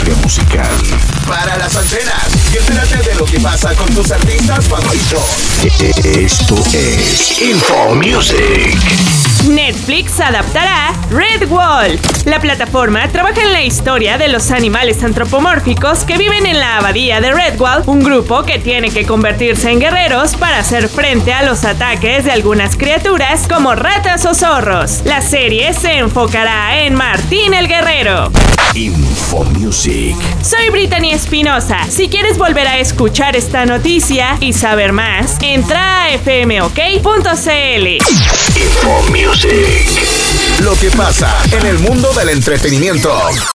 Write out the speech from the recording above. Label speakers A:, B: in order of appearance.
A: industria musical.
B: Para las antenas y entérate de lo que pasa con tus artistas favoritos.
A: Esto es Info Music.
C: Netflix adaptará Redwall. La plataforma trabaja en la historia de los animales antropomórficos que viven en la abadía de Redwall, un grupo que tiene que convertirse en guerreros para hacer frente a los ataques de algunas criaturas como ratas o zorros. La serie se enfocará en Martín el Guerrero.
A: Info Music.
C: Soy Brittany Espinosa. Si quieres volver a escuchar esta noticia y saber más, entra a fmok.cl.
A: Info Music.
B: Lo que pasa en el mundo del entretenimiento.